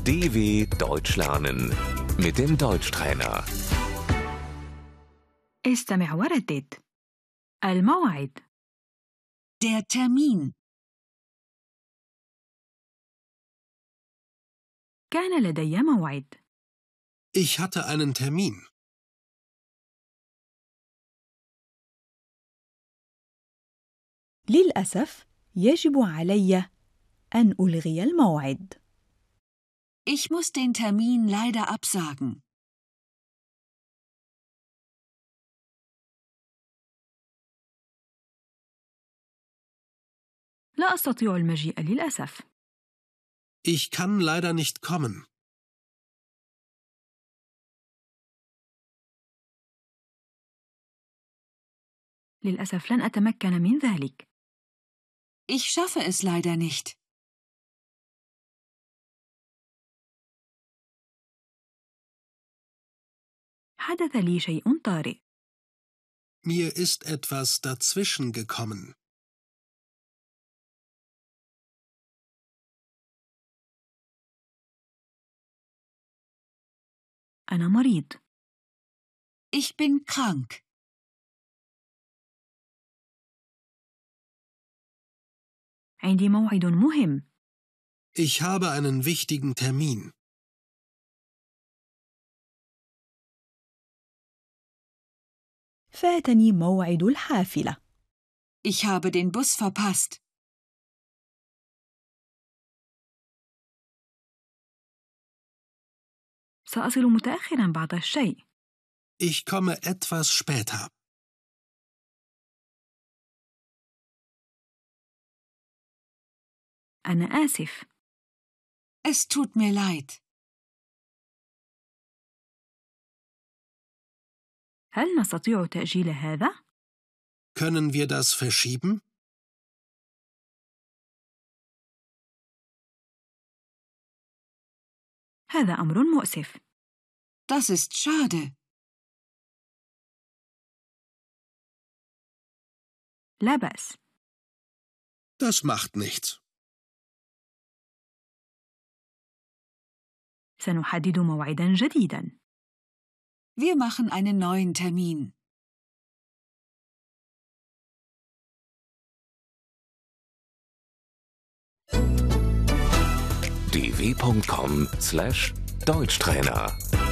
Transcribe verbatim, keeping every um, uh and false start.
D W Deutsch lernen mit dem Deutschtrainer. استمع وردد. الموعد. Der Termin. كان لدي موعد. Ich hatte einen Termin. للأسف يجب علي أن ألغي الموعد. Ich muss den Termin leider absagen. لا أستطيع المجيء للأسف. Ich kann leider nicht kommen. للأسف لن أتمكن من ذلك. Ich schaffe es leider nicht. حدث لي شيء طارئ. Mir ist etwas dazwischen gekommen. أنا مريض. Ich bin krank. عندي موعد مهم. Ich habe einen wichtigen Termin. فاتني موعد الحافلة. Ich habe den Bus verpasst. سأصل متأخراً بعض الشيء. Ich komme etwas später. أنا آسف. Es tut mir leid. هل نستطيع تأجيل هذا؟ Können wir das verschieben? هذا أمر مؤسف. Das ist schade. لا بأس. Das macht nichts. سنحدد موعداً جديداً. Wir machen einen neuen Termin. d w punkt com slash Deutschtrainer